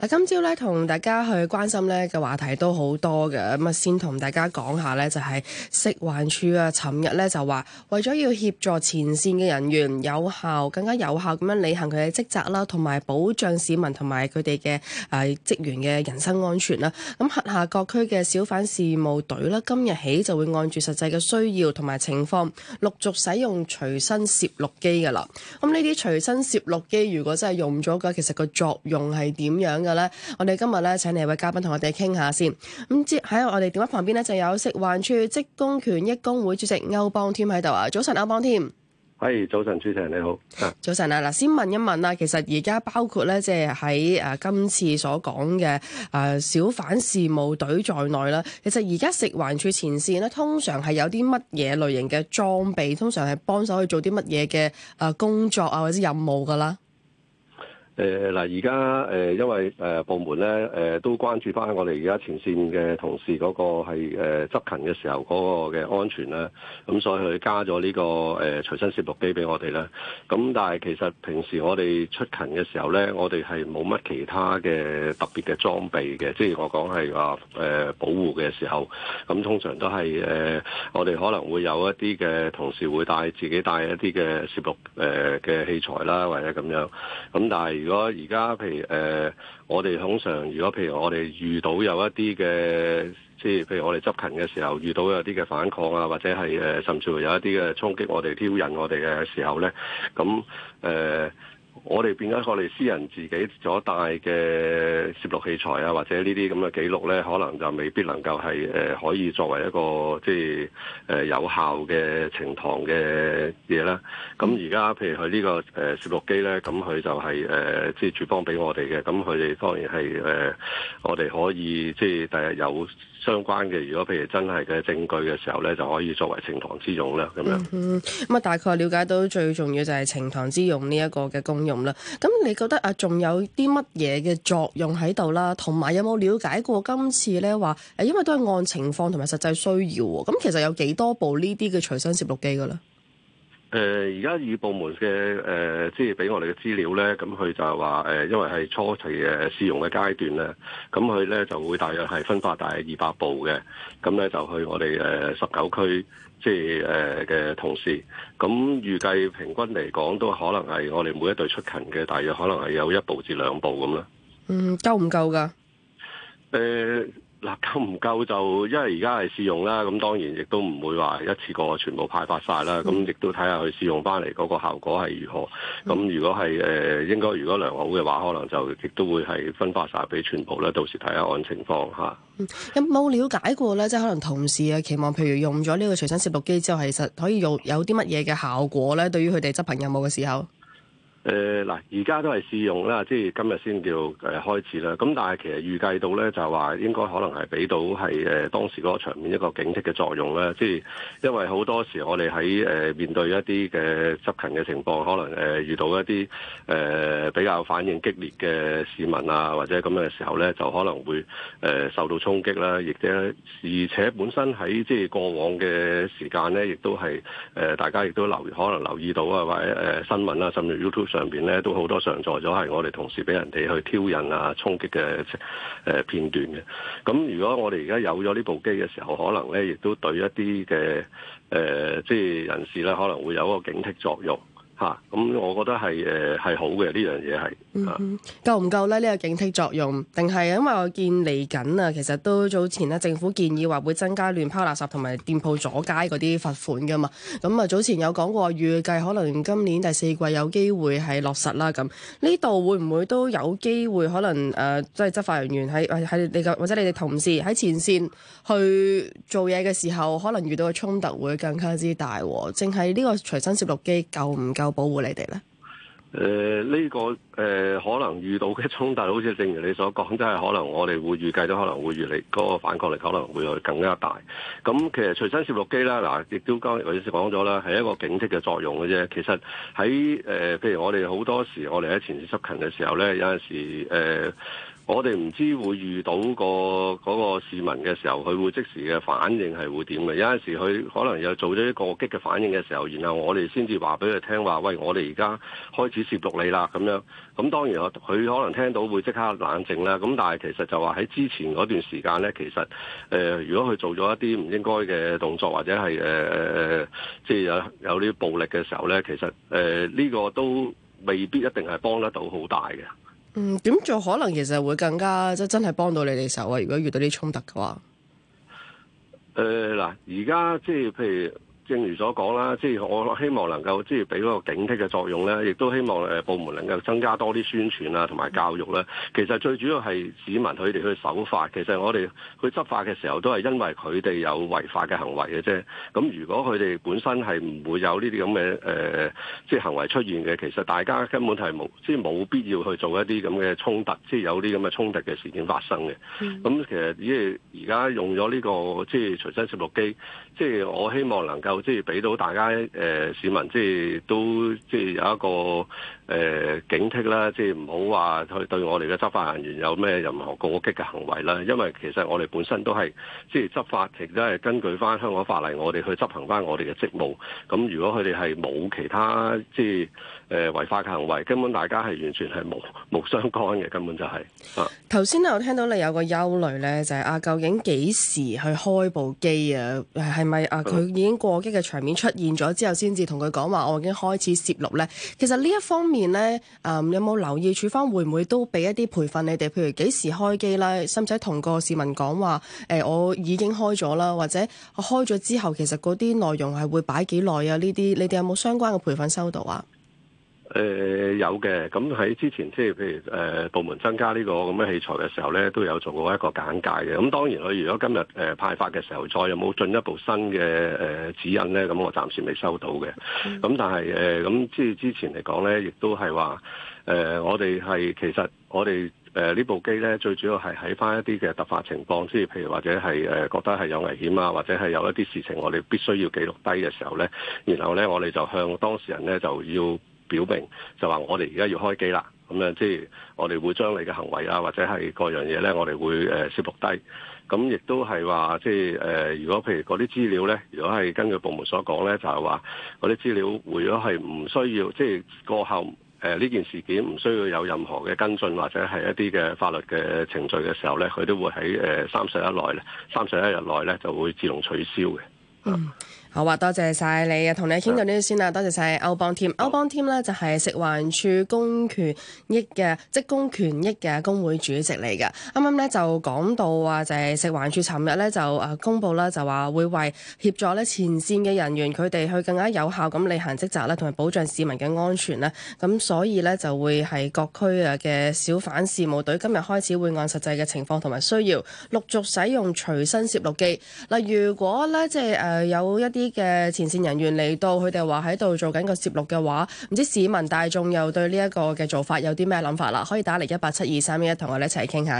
嗱，今朝咧同大家去關心咧嘅話題都好多嘅，咁啊先同大家講下咧，就係食環署啊，尋日咧就話為咗要協助前線嘅人員更加有效咁樣履行佢嘅職責啦，同埋保障市民同埋佢哋嘅職員嘅人身安全啦。咁轄下各區嘅小販事務隊啦，今日起就會按住實際嘅需要同埋情況，陸續使用隨身攝錄機㗎啦。咁呢啲隨身攝錄機如果真係用咗嘅，其實個作用係點樣嘅咧？我哋今日咧請嚟位嘉賓同我哋傾下先。咁喺我哋電話旁邊咧就有食環署職工權益工會主席歐邦添喺度啊。早晨，歐邦添。 係，早晨，主持人你好。 早晨啊，嗱，先問一問啊，其實而家包括咧，即係喺今次所講嘅小販事務隊在內啦。其實而家食環署前線咧，通常係有啲乜嘢類型嘅裝備，通常係幫手去做啲乜嘢嘅工作啊，或者任務噶啦？ 嗱，而家因為部門咧都關注翻我哋而家前線嘅同事嗰個係執勤嘅時候嗰個嘅安全啦，咁所以佢加咗呢個隨身攝錄機俾我哋啦。咁但係其實平時我哋出勤嘅時候咧，我哋係冇乜其他嘅特別嘅裝備嘅，即係我講係話保護嘅時候，咁通常都係我哋可能會有一啲嘅同事會自己帶一啲嘅攝錄嘅器材啦，或者咁樣。咁但係如果而家譬如我哋通常如果譬如我哋遇到有一啲嘅，即係譬如我哋執勤嘅時候遇到有啲嘅反抗啊，或者係甚至乎有一啲嘅衝擊我哋挑釁我哋嘅時候咧，咁我哋變咗我哋私人自己所帶嘅攝錄器材啊，或者呢啲咁嘅記錄咧，可能就未必能夠係可以作為一個即係有效嘅呈堂嘅嘢啦。咁而家譬如佢呢個攝錄機咧，咁佢就係即係署方俾我哋嘅，咁佢哋當然係我哋可以即係第日有相關嘅，如果譬如真係嘅證據嘅時候咧，就可以作為呈堂之用啦。咁樣咁啊，大概了解到最重要就係呈堂之用呢一個嘅功用啦。咁你覺得啊，仲有啲乜嘢嘅作用喺度啦？同埋有冇了解過今次咧話因為都係按情況同埋實際需要喎。咁其實有幾多部呢啲嘅隨身攝錄機㗎啦？ 而家與部門嘅即係俾我哋嘅資料咧，咁佢就係話因為係初期試用嘅階段咧，咁佢咧就會大約係分發大約200部嘅，咁咧就去我哋19區即係嘅同事，咁預計平均嚟講都可能係我哋每一隊出勤嘅大約可能係有1部至2部咁啦。 夠唔夠㗎？ 嗱，夠唔夠就因為而家係試用啦，咁當然亦都唔會話一次過全部派發晒啦，咁亦都睇下佢試用翻嚟嗰個效果係如何。咁如果係應該如果良好嘅話，可能就亦都會係分發晒俾全部啦。到時睇下按情況嚇。 有冇了解過咧？即係可能同事啊期望，譬如用咗呢個隨身攝錄機之後，其實可以有啲乜嘢嘅效果咧？對於佢哋執行任務嘅時候。 嗱，而家都係試用啦，即係今日先叫開始啦。咁但係其實預計到咧，就話應該可能係俾到係當時嗰個場面一個警惕嘅作用啦。即係因為好多時我哋喺面對一啲嘅執勤嘅情況，可能遇到一啲比較反應激烈嘅市民啊，或者咁嘅時候咧，就可能會受到衝擊啦。亦而且本身喺即係過往嘅時間咧，亦都係大家亦都可能留意到啊，或者新聞啊，甚至 YouTube上邊咧都好多上載咗係我哋同事俾人哋去挑釁啊、衝擊嘅片段嘅。咁如果我哋而家有咗呢部機嘅時候，可能咧亦都對一啲嘅即係人士咧，可能會有一個警惕作用。咁我覺得係好嘅，呢樣嘢係。 夠唔夠咧？呢個警惕作用，定係因為我見嚟緊啊，其實都早前咧政府建議話會增加亂拋垃圾同埋店鋪阻街嗰啲罰款噶嘛。咁啊早前有講過預計可能今年第4季有機會係落實啦。咁呢度會唔會都有機會可能即係執法人員喺你或者你哋同事喺前線去做嘢嘅時候，可能遇到嘅衝突會更加之大？淨係呢個隨身攝錄機夠唔夠保護你哋咧？ 呢個可能遇到嘅衝突，好似正如你所講，真係可能我哋會預計到可能會越嚟嗰個反抗力可能會更加大。咁其實隨身攝錄機啦，嗱亦都剛才講咗啦，係一個警惕嘅作用嘅啫。其實喺譬如我哋好多時，我哋喺前線執勤嘅時候咧，有陣時我哋唔知會遇到嗰個市民嘅時候，佢會即時嘅反應係會點嘅？有陣時佢可能又做咗一個過激嘅反應嘅時候，然後我哋先至話俾佢聽話，喂，我哋而家開始攝錄你啦咁樣。咁當然佢可能聽到會即刻冷靜啦。咁但係其實就話喺之前嗰段時間咧，其實如果佢做咗一啲唔應該嘅動作，或者係即係有啲暴力嘅時候咧，其實呢個都未必一定係幫得到好大嘅。 點做可能其實會更加即係真係幫到你哋手啊？如果遇到啲衝突嘅話， 嗱，而家即係譬如正如所講啦，即係我希望能夠即係俾嗰個警惕嘅作用咧，亦都希望部門能夠增加多啲宣傳啊，同埋教育咧。其實最主要係市民佢哋去守法，其實我哋去執法嘅時候都係因為佢哋有違法嘅行為嘅啫。咁如果佢哋本身係唔會有呢啲咁嘅即係行為出現嘅，其實大家根本係冇必要去做一啲咁嘅衝突，即係有啲咁嘅衝突嘅事件發生嘅。咁其實因為而家用咗呢個即係隨身攝錄機，即係我希望能夠即係俾到大家市民即係都即係有一個警惕啦，即係唔好話去對我哋嘅執法人員有咩任何過激嘅行為啦。因為其實我哋本身都係即係執法，其實都係根據翻香港法例，我哋去執行翻我哋嘅職務。咁如果佢哋係冇其他即係違法嘅行為，根本大家係完全係無相干嘅，根本就係。 頭先我聽到你有個憂慮咧，就係究竟幾時去開部機啊？係咪佢已經過激嘅場面出現咗之後，先至同佢講話我已經開始攝錄咧？其實呢一方面咧，有冇留意處方會唔會都俾一啲培訓你哋？譬如幾時開機啦，使唔使同個市民講話？我已經開咗啦，或者我開咗之後，其實嗰啲內容係會擺幾耐啊？呢啲你哋有冇相關嘅培訓收到啊？ 有嘅，咁喺之前即係譬如部門增加呢個咁嘅器材嘅時候咧，都有做過一個簡介嘅。咁當然佢如果今日派發嘅時候再有冇進一步新嘅指引咧，咁我暫時未收到嘅。咁但係咁即係之前嚟講咧，亦都係話我哋係其實我哋呢部機咧，最主要係喺翻一啲嘅突發情況，即係譬如或者係覺得係有危險啊，或者係有一啲事情我哋必須要記錄低嘅時候咧，然後咧我哋就向當事人咧就要表明就話我哋而家要開機啦，咁樣即係我哋會將你嘅行為啊，或者係各樣嘢咧，我哋會攝錄低。咁亦都係話即係如果譬如嗰啲資料咧，如果係根據部門所講咧，就係話嗰啲資料如果係唔需要，即係過後呢件事件唔需要有任何嘅跟進或者係一啲嘅法律嘅程序嘅時候咧，佢都會喺31日內咧就會自動取消嘅。 好啊，多謝晒你啊，同你傾到呢度先啦，多謝晒歐邦添。歐邦添咧就係食環署公權益嘅職工權益嘅工會主席嚟嘅。啱啱咧就講到啊，就係食環署尋日咧就公佈啦，就話會為協助咧前線嘅人員佢哋去更加有效咁履行職責咧，同埋保障市民嘅安全咧。咁所以咧就會係各區嘅小販事務隊今日開始會按實際嘅情況同埋需要陸續使用隨身攝錄機。嗱，如果咧即係有一啲嘅前線人員嚟到，佢哋話喺度做緊個攝錄嘅話，唔知市民大眾又對呢一個嘅做法有啲咩諗法啦？可以打嚟1872311同我哋一齊傾下。